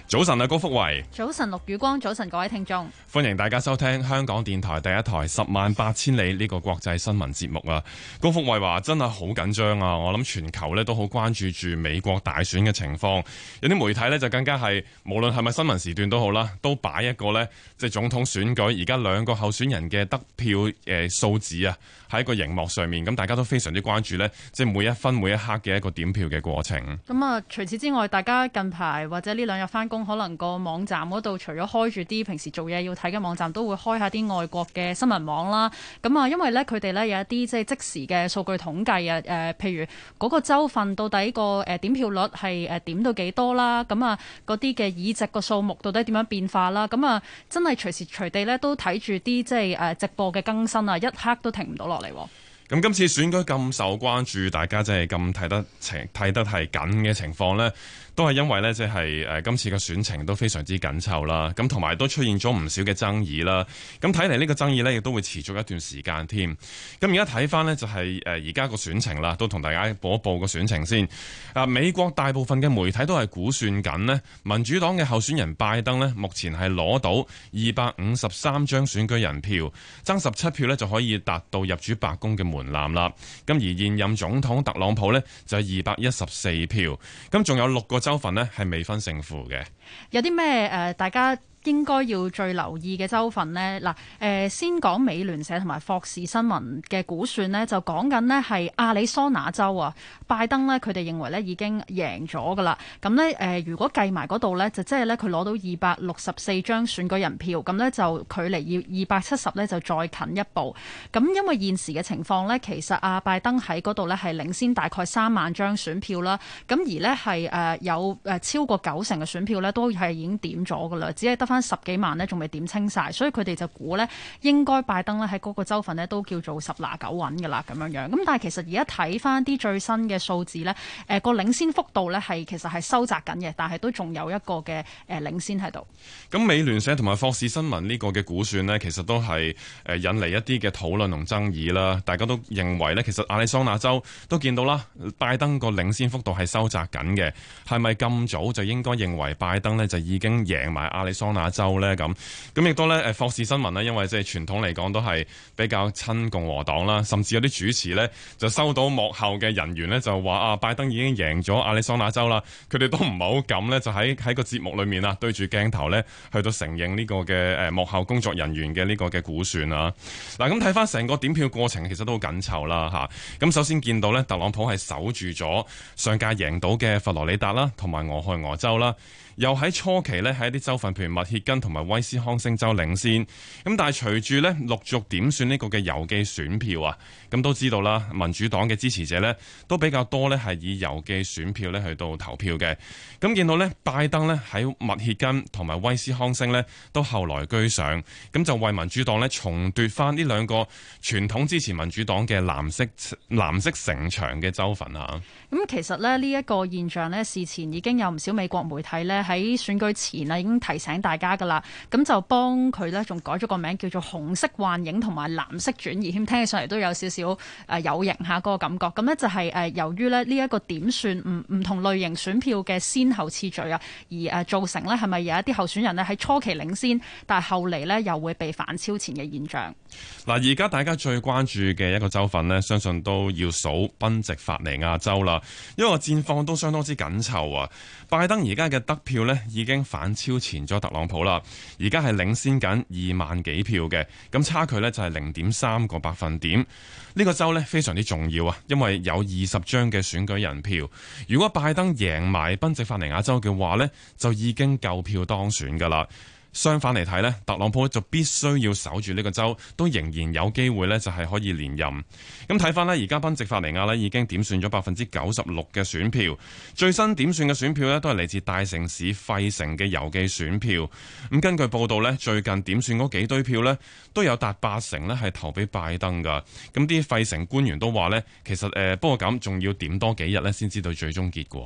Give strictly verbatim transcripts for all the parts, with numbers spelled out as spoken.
早晨啊，高福慧。 早晨，陸宇光。早晨，各位聽眾， 歡迎大家收聽香港電台第一台十萬八千里呢個國際新聞節目啊。高福慧話真係好緊張啊，我諗全球咧都好關注住美國大選嘅情況，有啲媒體咧就更加係無論係咪新聞時段都好啦，都擺一個咧即係總統選舉而家兩個候選人嘅得票誒數字啊喺個熒幕上面，咁大家都非常之關注咧，即係每一分每一刻嘅一個點票嘅過程。 咁啊，除此之外，大家近排或者呢兩日翻工，可能個網站嗰度除咗開住啲平時做嘢要睇嘅網站，都會開下啲外國嘅新聞網啦。咁啊，因為咧佢哋咧有一啲即係即時嘅數據統計啊，誒、呃，譬如嗰個州份到底個誒點票率係誒點到幾多啦？咁啊，嗰啲嘅議席個數目到底點樣變化啦？咁啊，真係隨時隨地咧都睇住啲即係誒直播嘅更新啊，一刻都停唔到落嚟。 咁今次選舉咁受關注，大家真係咁睇得情睇得係緊嘅情況呢，都係因為呢，即係誒今次嘅選情都非常之緊湊啦。咁同埋都出現咗唔少嘅爭議啦。咁睇嚟呢個爭議呢，亦都會持續一段時間添。咁而家睇翻呢，就係誒而家個選情啦，都同大家報一報個選情先。啊，美國大部分嘅媒體都係估算緊呢，民主黨嘅候選人拜登呢，目前係攞到二百五十三張選舉人票，爭十七票呢，就可以達到入主白宮嘅門檻啦。咁而現任總統特朗普呢，就係二百一十四票，咁仲有六個州份呢，係未分勝負嘅。 有啲咩誒大家應該要最留意嘅州份呢？嗱，誒先講美聯社同埋霍士新聞嘅估算呢，就講緊呢係亞利桑那州啊，拜登呢，佢哋認為呢已經贏咗噶啦。咁呢，誒，如果計埋嗰度呢，就即係呢，佢攞到二百六十四張選舉人票，咁呢，就距離要二百七十呢，就再近一步。咁因為現時嘅情況呢，其實阿拜登喺嗰度呢係領先大概三萬張選票啦。咁而呢係誒有誒超過九成嘅選票呢，都係已經點咗噶啦，只係得翻十幾萬呢，仲未點清晒，所以佢哋就估呢，應該拜登呢喺嗰個州份呢都叫做十拿九穩㗎啦咁樣樣。咁但係其實而家睇翻啲最新嘅數字呢，誒、呃、個領先幅度呢係其實係收窄緊嘅，但係都仲有一個嘅誒領先喺度。 咁美聯社同埋霍士新聞呢個嘅估算呢，其實都係誒引嚟一啲嘅討論同爭議啦。大家都認為呢，其實亞利桑那州都見到啦，拜登個領先幅度係收窄緊嘅，係咪咁早就應該認為拜登呢就已經贏埋亞利桑那州呢？咁咁亦都咧，誒霍士新聞呢，因為即係傳統嚟講都係比較親共和黨啦，甚至有啲主持呢，就收到幕後嘅人員呢，就話啊，拜登已經贏咗亞利桑那州啦，佢哋都唔係好敢呢，就喺喺個節目裏面啊，對住鏡頭呢，去到承認呢個嘅誒幕後工作人員嘅呢個嘅估算啊。嗱，咁睇翻成個點票過程，其實都好緊湊啦嚇。咁首先見到呢，特朗普係守住咗上屆贏到嘅佛羅里達啦，同埋俄亥俄州啦。又喺初期呢，喺一啲州份，譬如密歇根同埋威斯康星州領先。咁但係隨住呢陸續點算呢個嘅郵寄選票啊，咁都知道啦，民主黨嘅支持者呢都比較多呢係以郵寄選票呢去到投票嘅。咁見到呢，拜登呢喺密歇根同埋威斯康星呢都後來居上，咁就為民主黨呢重奪翻呢兩個傳統支持民主黨嘅藍色藍色城牆嘅州份啊。 咁其實呢，呢一個現象呢，事前已經有唔少美國媒體呢喺選舉前啊已經提醒大家噶啦，咁就幫佢呢仲改咗個名叫做紅色幻影同埋藍色轉移，添聽起上嚟都有少少誒有型下嗰個感覺。咁呢就係誒由於咧呢一個點算唔唔同類型選票嘅先後次序啊，而誒造成呢係咪有一啲候選人呢喺初期領先，但係後嚟呢又會被反超前嘅現象。 嗱，而家大家最關注嘅一個州份呢，相信都要數賓夕法尼亞州啦，因為個戰況都相當之緊湊啊。拜登而家嘅得票呢已經反超前咗特朗普啦，而家係領先緊二萬幾票嘅，咁差距呢就係零點三個百分點。呢個州呢非常之重要啊，因為有二十張嘅選舉人票，如果拜登贏埋賓夕法尼亞州嘅話呢，就已經夠票當選噶啦。相反嚟睇呢，特朗普就必須要守住呢個州，都仍然有機會呢就係可以連任。咁睇翻呢，而家賓夕法尼亞呢已經點算咗百分之九十六嘅選票，最新點算嘅選票呢都係嚟自大城市費城嘅郵寄選票。咁根據報道呢，最近點算嗰幾堆票呢都有達八成呢係投俾拜登噶。咁啲費城官員都話呢，其實誒不過咁仲要點多幾日呢先知道最終結果。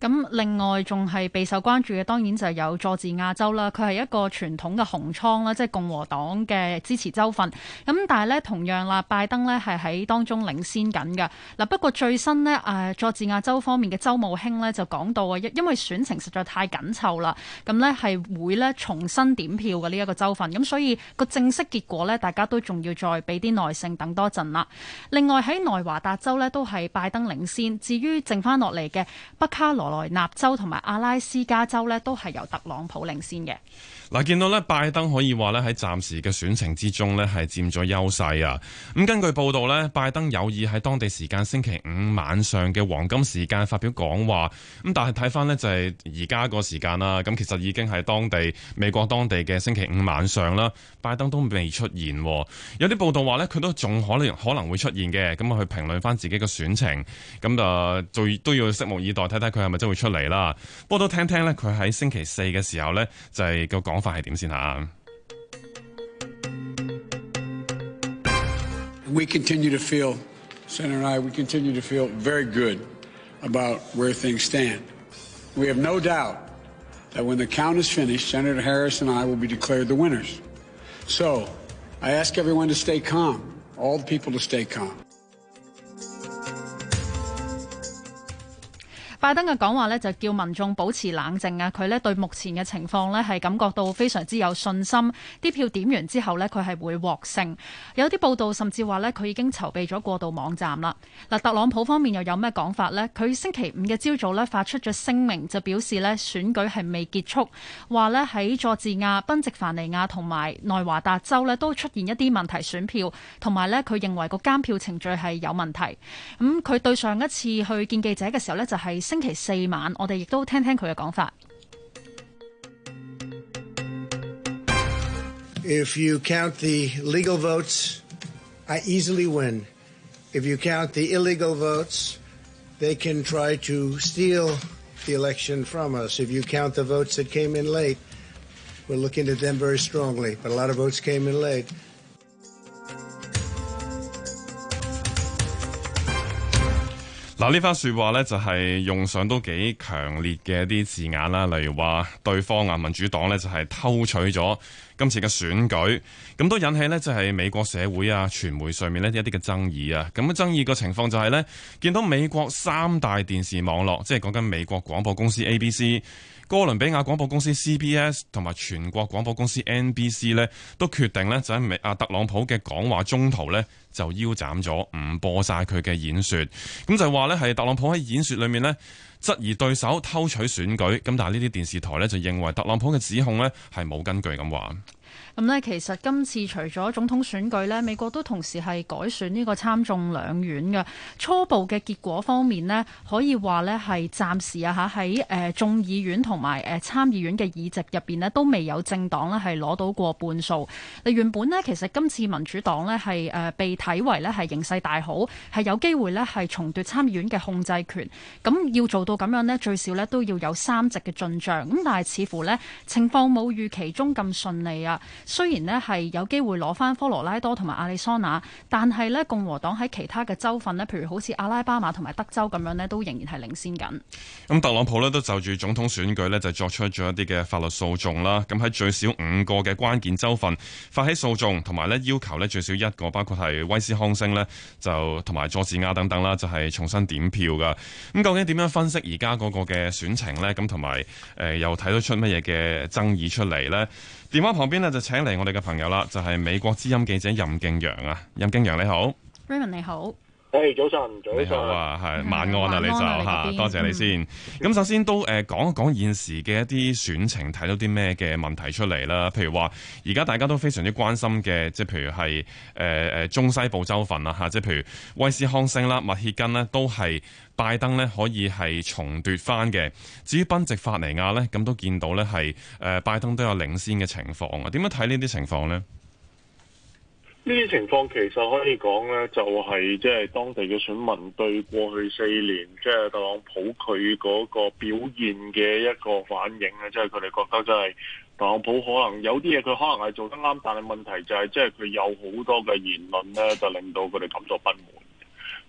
咁另外仲係備受關注嘅，當然就係有佐治亞州啦。佢係一個傳統嘅紅倉啦，即係共和黨嘅支持州份。咁但係咧，同樣啦，拜登咧係喺當中領先緊嘅。嗱，不過最新呢，誒佐治亞州方面嘅州務卿咧就講到啊，因因為選情實在太緊湊啦，咁咧係會咧重新點票嘅呢一個州份。咁所以個正式結果咧，大家都仲要再俾啲耐性等多陣啦。另外喺內華達州咧都係拜登領先，至於剩翻落嚟嘅北卡羅來納州同埋阿拉斯加州呢，都係由特朗普領先嘅。 嗱，見到咧拜登可以話咧喺暫時嘅選情之中咧係佔咗優勢啊！咁根據報道咧，拜登有意喺當地時間星期五晚上嘅黃金時間發表講話。咁但係睇翻呢，就係而家個時間啦，咁其實已經係當地美國當地嘅星期五晚上啦，拜登都未出現。有啲報道話呢，佢都仲可能可能會出現嘅，咁啊去評論翻自己嘅選情。咁啊，最都要拭目以待，睇睇佢係咪真會出嚟啦。不過都聽聽呢，佢喺星期四嘅時候呢，就係個講法係點先吓。 We continue to feel, Senator and I, we continue to feel very good about where things stand. We have no doubt that when the count is finished, Senator Harris and I will be declared the winners. So, I ask everyone to stay calm, all the people to stay calm. 拜登嘅講話呢，就叫民眾保持冷靜啊！佢呢對目前嘅情況呢，係感覺到非常之有信心。啲票點完之後呢，佢係會獲勝。有啲報道甚至話呢，佢已經籌備咗過渡網站啦。嗱，特朗普方面又有咩講法呢？佢星期五嘅朝早呢，發出咗聲明，就表示呢選舉係未結束，話呢喺佐治亞、賓夕凡尼亞同埋內華達州呢，都出現一啲問題選票，同埋呢，佢認為個監票程序係有問題。咁佢對上一次去見記者嘅時候呢，就係星期四晚，我哋亦都聽聽佢嘅講法。 If you count the legal votes, I easily win. If you count the illegal votes, they can try to steal the election from us. If you count the votes that came in late, we're looking at them very strongly, but a lot of votes came in late. 嗱，呢番説話呢，就係用上都幾強烈嘅一啲字眼啦，例如話對方啊民主黨呢，就係偷取咗今次嘅選舉，咁都引起呢，就係美國社會啊傳媒上面呢一啲嘅爭議啊。咁嘅爭議個情況就係呢，見到美國三大電視網絡，即係講緊美國廣播公司 A B C、哥倫比亞廣播公司 C B S 同埋全國廣播公司 N B C 呢，都決定呢，就喺美啊特朗普嘅講話中途呢，就腰斬咗，唔播晒佢嘅演說。咁就話呢，係特朗普喺演說裏面呢，質疑對手偷取選舉。咁但係呢啲電視台呢，就認為特朗普嘅指控呢，係冇根據咁話。 咁呢，其實今次除咗總統選舉呢，美國都同時係改選呢個參眾兩院嘅初步嘅結果方面呢，可以話呢係暫時啊嚇喺誒眾議院同埋誒參議院嘅議席入邊呢，都未有政黨呢係攞到過半數。原本呢，其實今次民主黨呢係誒被睇為呢係形勢大好，係有機會呢係重奪參議院嘅控制權。咁要做到咁樣呢，最少呢都要有三席嘅進帳。咁但係似乎呢情況冇預期中咁順利啊。雖然呢係有機會攞翻科羅拉多同埋亞利桑那，但係呢共和黨喺其他嘅州份呢，譬如好似阿拉巴馬同埋德州咁樣呢，都仍然係領先緊。 咁特朗普呢都就住總統選舉呢，就作出咗一啲嘅法律訴訟啦。咁喺最少五個嘅關鍵州份發起訴訟，同埋呢要求呢最少一個，包括係威斯康星呢，就同埋佐治亞等等啦，就係、是、重新點票噶。咁究竟點樣分析而家嗰個嘅選情呢？咁同埋誒又睇得出乜嘢嘅爭議出嚟呢？電話旁邊呢，就請嚟我哋嘅朋友啦，就係、是、美國之音記者任敬揚啊，任敬揚你好 Raymond 你好， 誒、hey, 早晨，早晨， 你好啊，係晚安啊，你就嚇，多謝你先。咁、嗯、首先都誒講一講現時嘅一啲選情，睇到啲咩嘅問題出嚟啦？譬如話，而家大家都非常之關心嘅，即係譬如係誒誒中西部州份啦嚇，即係譬如威斯康星啦、密歇根呢，都係拜登呢可以係重奪翻嘅。至於賓夕法尼亞呢，咁都見到呢係誒拜登都有領先嘅情況啊。點樣睇呢啲情況呢？ 呢啲情況其實可以講咧，就係即係當地嘅選民對過去四年即係特朗普佢嗰個表現嘅一個反應咧，即係佢哋覺得即係特朗普可能有啲嘢佢可能係做得啱，但係問題就係即係佢有好多嘅言論咧，就令到佢哋感到不滿。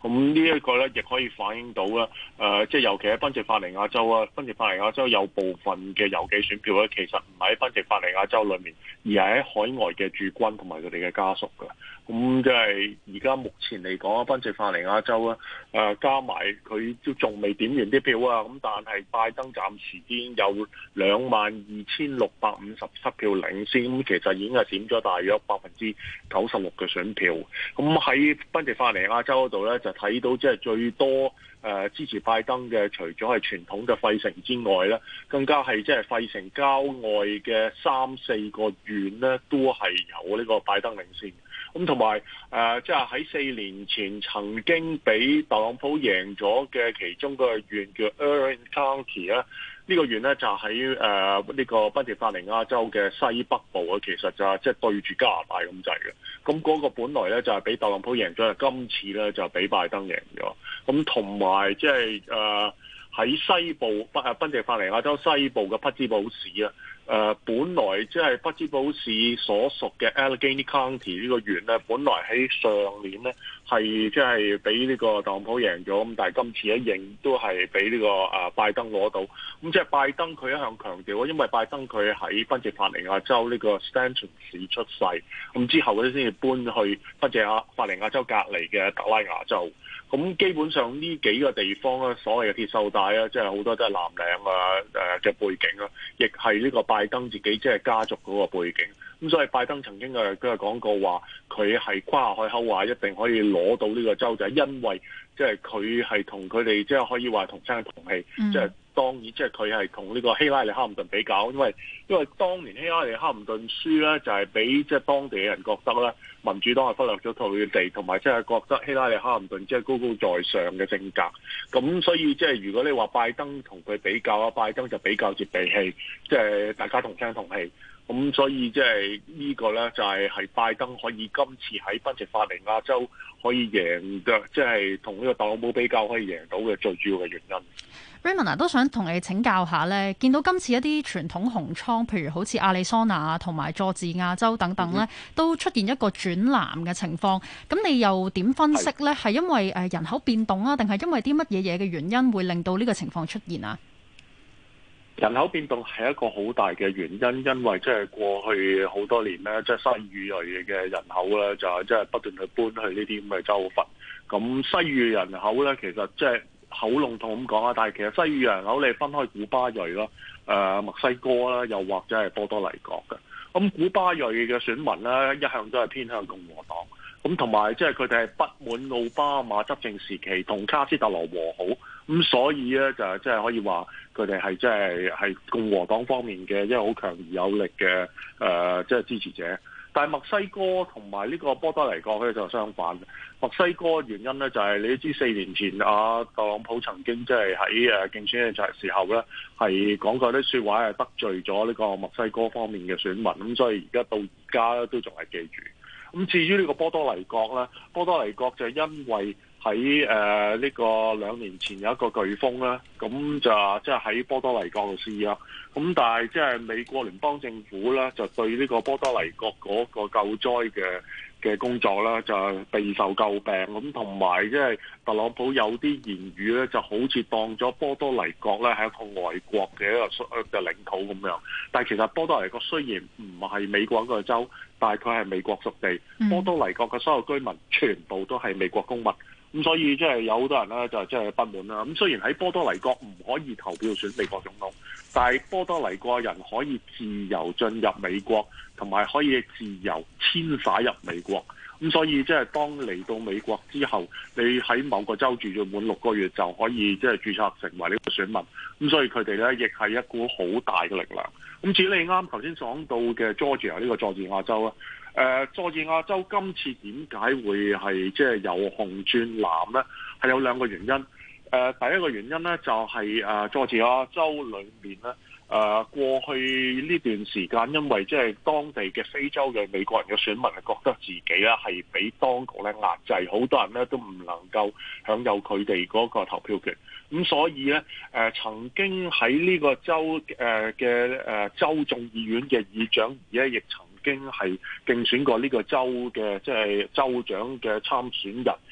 咁呢一個咧，亦可以反映到啦，誒、呃，即係尤其喺賓夕法尼亞州啊，賓夕法尼亞州有部分嘅郵寄選票咧，其實唔喺賓夕法尼亞州裏面，而係喺海外嘅駐軍同埋佢哋嘅家屬嘅。咁即係而家目前嚟講啊，賓夕法尼亞州啊，誒、呃、加埋佢都仲未點完啲票啊，咁但係拜登暫時已經有兩萬二千六百五十七票領先，咁其實已經係點咗大約百分之九十六嘅選票。咁喺賓夕法尼亞州嗰度咧，就睇到即係最多誒、呃、支持拜登嘅，除咗係傳統嘅費城之外咧，更加係即係費城郊外嘅三四個縣咧，都係有呢個拜登領先。咁同埋誒，即係喺四年前曾經俾特朗普贏咗嘅其中個縣叫 Erin County 咧，呢個縣咧就喺誒呢個賓夕法尼亞州嘅西北部啊，其實就係即係對住加拿大咁滯嘅。咁嗰個本來咧就係俾特朗普贏咗，今次咧就俾拜登贏咗。咁同埋即係誒喺西部賓誒賓夕法尼亞州西部嘅匹茲堡市啊。誒、呃，本來即係匹茲堡市所屬嘅 Allegheny County 呢個縣咧，本來喺上年咧係即係俾呢個特朗普贏咗，咁但係今次一認都係俾呢個誒、呃、拜登攞到。咁即係拜登佢一向強調，因為拜登佢喺賓夕法尼亞州呢個 Stanton 市出世，咁之後咧先至搬去賓夕法尼亞州隔離嘅特拉亞州。咁基本上呢幾個地方咧，所謂嘅鐵鏽帶啊，即係好多都係藍領啊誒嘅背景啊，亦係呢個拜登自己即係家族嗰個背景。咁所以拜登曾經誒都係講過話，佢係誇海口話一定可以攞到呢個州，就係因為即係佢係同佢哋即係可以話同聲同氣，即係、嗯、當然即係佢係同呢個希拉里哈姆頓比較，因為因為當年希拉里哈姆頓輸咧，就係俾即係當地嘅人覺得咧，民主黨係忽略咗佢哋，同埋即係覺得希拉里哈姆頓即係高高在上嘅性格。咁所以即係如果你話拜登同佢比較啊，拜登就比較接地氣，即係大家同聲同氣。咁所以即係呢個咧就係係拜登可以今次喺賓夕法尼亞州可以贏嘅，即係同呢個特朗普比較可以贏到嘅最主要嘅原因。 Raymond 啊，都想同你請教下咧，見到今次一啲傳統紅倉，譬如好似亞利桑那同埋佐治亞州等等咧，都出現一個轉藍嘅情況。咁你又點分析咧？係因為誒人口變動啊，定係因為啲乜嘢嘢嘅原因會令到呢個情況出現啊？ 人口變動係一個好大嘅原因，因為即係過去好多年咧，即係西裔嘅人口咧，就係即係不斷去搬去呢啲咁嘅州份。咁西裔人口咧，其實即係好籠統咁講啊，但係其實西裔人口你分開古巴裔啦、誒、呃、墨西哥啦，又或者係波多黎各嘅。咁古巴裔嘅選民咧，一向都係偏向共和黨。咁同埋即係佢哋係不滿奧巴馬執政時期同卡斯特羅和好，咁所以咧就即係可以話佢哋係即係係共和黨方面嘅一個好強而有力嘅誒即係支持者。但係墨西哥同埋呢個波多黎各咧就相反。墨西哥原因咧就係你都知四年前啊特朗普曾經即係喺誒競選嘅時候咧係講過啲説話係得罪咗呢個墨西哥方面嘅選民，咁所以而家到而家咧都仲係記住。咁至於呢個波多黎各咧，波多黎各就因為喺誒呢個兩年前有一個颶風啦，咁就即係喺波多黎各度試啊。咁但係即係美國聯邦政府咧，就對呢個波多黎各嗰個救災嘅嘅工作咧，就備受詬病。咁同埋即係特朗普有啲言語咧，就好似當咗波多黎各咧係一個外國嘅一個嘅領土咁樣。但係其實波多黎各雖然唔係美國一個州，但係佢係美國屬地。波多黎各嘅所有居民全部都係美國公民。咁所以即係有好多人咧就即係不滿啦。咁雖然喺波多黎各唔可以投票選美國總統，但係波多黎各人可以自由進入美國，同埋可以自由遷徙入美國。咁所以即係當嚟到美國之後，你喺某個州住咗滿六個月就可以即係註冊成為呢個選民。咁所以佢哋咧亦係一股好大嘅力量。咁至於你啱頭先講到嘅 Georgia 呢個佐治亞州啊。誒、呃，佐治亞州今次點解會係即係由紅轉藍咧？係有兩個原因。誒、呃，第一個原因咧就係、是、誒、呃、佐治亞州裏面咧，誒、呃、過去呢段時間，因為即係當地嘅非洲嘅美國人嘅選民係覺得自己咧係俾當局咧壓制，好多人咧都唔能夠享有佢哋嗰個投票權。咁所以咧，誒、呃、曾經喺呢個州誒嘅誒州眾議院嘅議長，而家亦曾經係競選過呢個州嘅即係州長嘅參選人，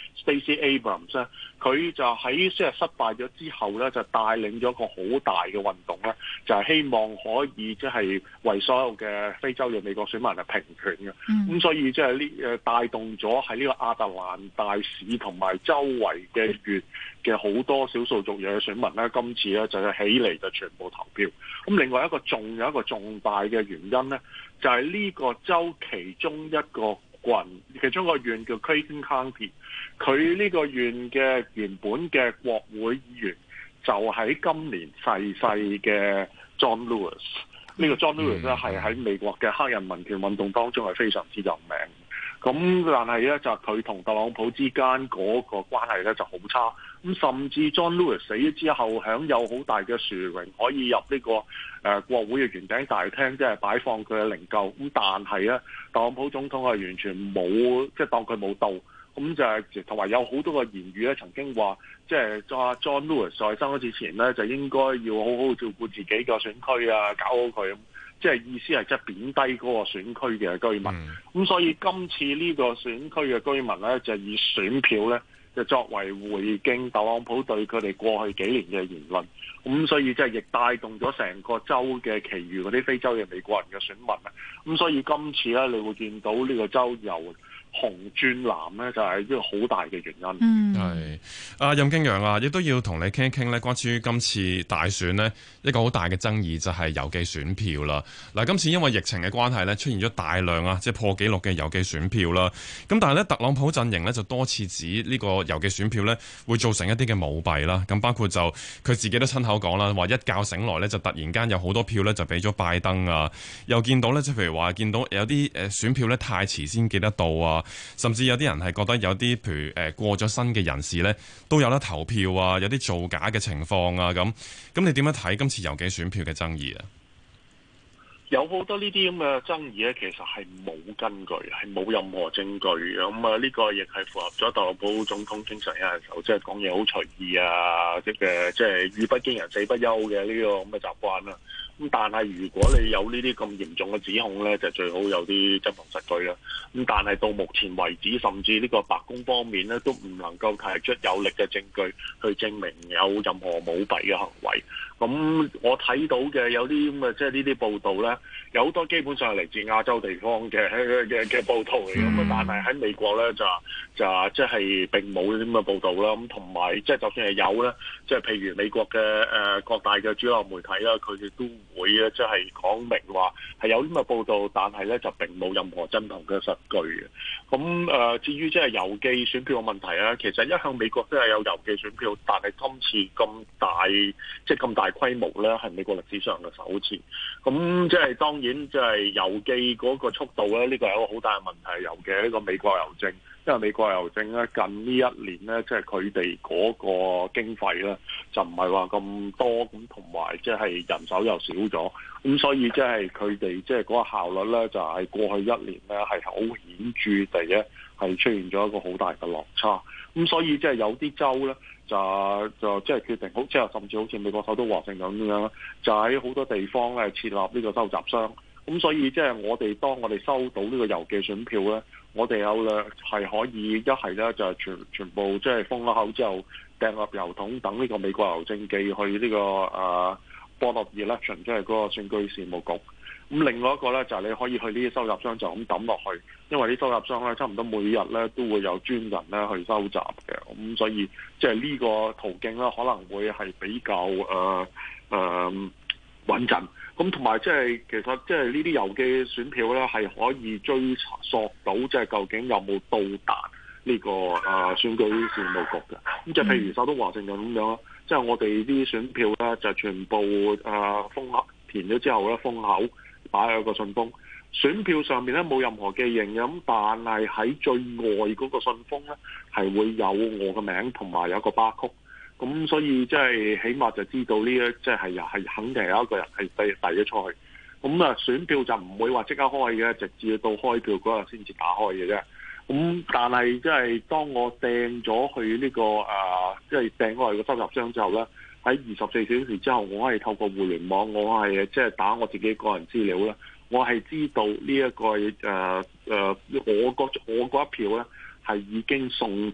Stacey Abrams 咧，佢就喺即係失敗咗之後咧，就帶領咗一個好大嘅運動咧，就係、是、希望可以即係為所有嘅非洲嘅美國選民係平權嘅。咁、嗯、所以即係呢誒帶動咗喺呢個亞特蘭大市同埋周圍嘅縣嘅好多少數族裔嘅選民咧，今次咧就係起嚟就全部投票。咁另外一個仲有一個重大嘅原因咧，就係、是、呢個州其中一個郡，其中一個縣叫 Clayton County， 佢呢個縣嘅原本嘅國會議員就喺今年逝世嘅 John Lewis。呢個 John Lewis 咧係喺美國嘅黑人民權運動當中係非常之有名。咁但係咧就佢同特朗普之間嗰個關係咧就好差。咁甚至 John Lewis 死咗之後，享有好大嘅殊榮，可以入呢、這個誒、呃、國會嘅圓頂大廳，即係擺放佢嘅靈柩。咁但係咧，特朗普總統係完全冇，即係當佢冇到。咁就係同埋有好多個言語咧，曾經話即係 John Lewis 在生咗之前咧，就應該要好好照顧自己嘅選區啊，搞好佢。即係意思係即係貶低嗰個選區嘅居民。咁、嗯、所以今次呢個選區嘅居民咧，就以選票咧，就作為回敬特朗普對佢哋過去幾年嘅言論。咁所以即係亦帶動咗成個州嘅其餘嗰啲非洲嘅美國人嘅選民啊。咁所以今次咧，你會見到呢個州由紅轉藍咧，就係一個好大嘅原因。 嗯， 係啊，任敬揚啊，亦都要同你傾一傾咧，關於今次大選呢，一個好大嘅爭議就係郵寄選票啦。嗱，今次因為疫情嘅關係咧，出現咗大量啊，即係破紀錄嘅郵寄選票啦。咁但係咧，特朗普陣營咧就多次指呢個郵寄選票咧會造成一啲嘅舞弊啦。咁包括就佢自己都親口講啦，話一覺醒來咧就突然間有好多票咧就俾咗拜登啊，又見到咧即係譬如話見到有啲誒選票咧太遲先寄得到啊。甚至有啲人係覺得有啲譬如誒過咗身嘅人士咧都有得投票啊，有啲造假嘅情況啊，咁咁你點樣睇今次郵寄選票嘅爭議啊？ 有好多呢啲咁嘅爭議咧，其實係冇根據，係冇任何證據嘅。咁啊，呢個亦係符合咗特朗普總統經常有陣時候即係講嘢好隨意啊，即係即係語不驚人死不休嘅呢個咁嘅習慣啦。咁但係如果你有呢啲咁嚴重嘅指控咧，就最好有啲真憑實據啦。咁但係到目前為止，甚至呢個白宮方面咧都唔能夠提出有力嘅證據去證明有任何舞弊嘅行為。咁我睇到嘅有啲咁嘅即係呢啲報道咧，有好多基本上係嚟自亞洲地方嘅嘅嘅報道嚟。咁但係喺美國咧就就即係並冇呢啲咁嘅報道啦。咁同埋即係就算係有咧，即係譬如美國嘅誒各大嘅主流媒體啦，佢哋都會咧即係講明話係有呢咁嘅報道，但係咧就並冇任何真憑嘅實據嘅。咁誒、呃、至於即係郵寄選票嘅問題咧，其實一向美國都係有郵寄選票，但係今次咁大即係咁大規模咧，係美國歷史上嘅首次。咁即係當然即係郵寄嗰個速度咧，呢個係一個好大嘅問題。尤其係呢個美國郵政，因為美國郵政咧近呢一年咧，即係佢哋嗰個經費咧就唔係話咁多，咁同埋即係人手又少咗，咁所以即係佢哋即係嗰個效率咧，就係過去一年咧係好顯著地咧係出現咗一個好大嘅落差。咁所以即係有啲州咧。就就即係決定好，即係甚至好似美國首都華盛頓咁樣，就喺好多地方咧設立呢個收集箱。咁所以即係我哋當我哋收到呢個郵寄選票咧，我哋有咧係可以一係咧就係全全部即係封咗口之後掟入郵筒，等呢個美國郵政寄去呢、這個誒 Board of Election， 即係嗰個選舉事務局。咁另外一個咧就係你可以去呢啲收集箱就咁抌落去，因為啲收集箱咧差唔多每日咧都會有專人咧去收集嘅，咁所以即係呢個途徑咧可能會係比較誒誒穩陣。咁同埋即係其實即係呢啲郵寄選票咧係可以追查索到即係究竟有冇到達呢個誒選舉事務局嘅。咁即係譬如首都華盛頓咁樣，即係我哋啲選票咧就全部誒封盒填咗之後咧封口。擺喺個信封，選票上面咧冇任何記認嘅，咁但係喺最外嗰個信封咧係會有我嘅名同埋有一個巴曲，咁所以即係起碼就知道呢一即係又係肯定有一個人係遞遞咗出去，咁啊選票就唔會話即刻開嘅，直至到開票嗰日先至打開嘅啫。咁但係即係當我掟咗去呢個誒，即係掟開個收集箱之後咧。喺二十四小時之後，我係透過互聯網，我係即係打我自己個人資料啦。我係知道呢、這、一個誒誒、呃呃，我嗰我嗰一票咧係已經送達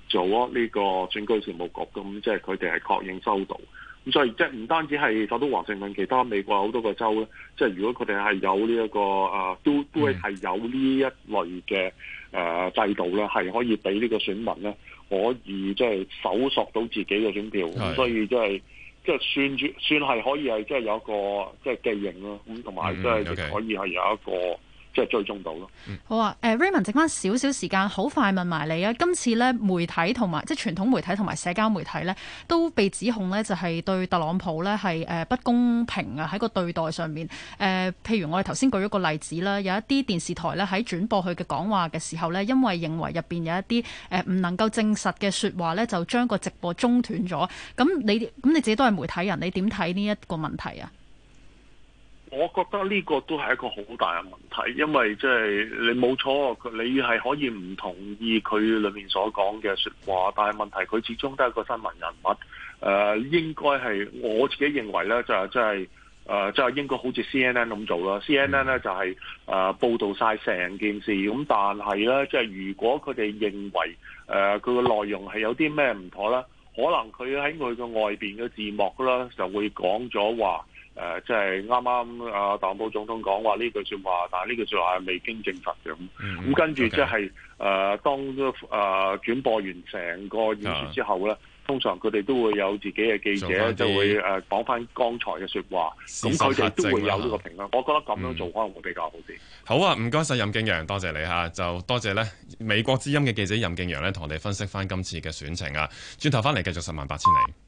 咗呢個選舉事務局，咁即係佢哋係確認收到。咁所以即係唔單止係首都華盛頓，其他美國好多個州咧，即係如果佢哋係有呢、這、一個誒、啊，都都係有呢一類嘅誒、呃、制度咧，係可以俾呢個選民咧可以即係搜索到自己嘅選票。咁所以即係即係算住算係可以係即係有一個即係記認咯。咁同埋即係亦可以係有一個。即係追蹤到咯。 好啊，誒 Raymond，剩翻少少時間，好快問埋你啊。今次咧媒體同埋即係傳統媒體同埋社交媒體咧，都被指控咧就係對特朗普咧係誒不公平啊，喺個對待上面。誒、呃，譬如我哋頭先舉咗個例子啦，有一啲電視台咧喺轉播佢嘅講話嘅時候咧，因為認為入邊有一啲誒唔能夠證實嘅説話咧，就將個直播中斷咗。咁你咁你自己都係媒體人，你點睇呢一個問題啊？ 我覺得呢個都係一個好大嘅問題，因為即係你冇錯，你係可以唔同意佢裏面所講嘅説話，但係問題佢始終都係一個新聞人物，誒、呃、應該係我自己認為咧，就係即係誒即係應該好似 C N N 咁做啦。C N N 咧就係、是、誒、呃、報導晒成件事，咁但係咧即係如果佢哋認為誒佢嘅內容係有啲咩唔妥咧，可能佢喺佢嘅外邊嘅字幕啦就會講咗話。誒、呃，即係啱啱啊，特朗普總統講話呢句説話，但係呢句説話係未經證實嘅咁。咁、嗯、跟住即係誒，當誒、呃、轉播完成個演説之後咧，啊、通常佢哋都會有自己嘅記者就會誒講翻剛才嘅説話，咁佢哋都會有呢個評論。我覺得咁樣做可能會比較好啲、嗯。好啊，唔該晒任敬揚，多謝你嚇，就多謝咧美國之音嘅記者任敬揚咧，同我哋分析翻今次嘅選情啊。轉頭翻嚟繼續十萬八千里。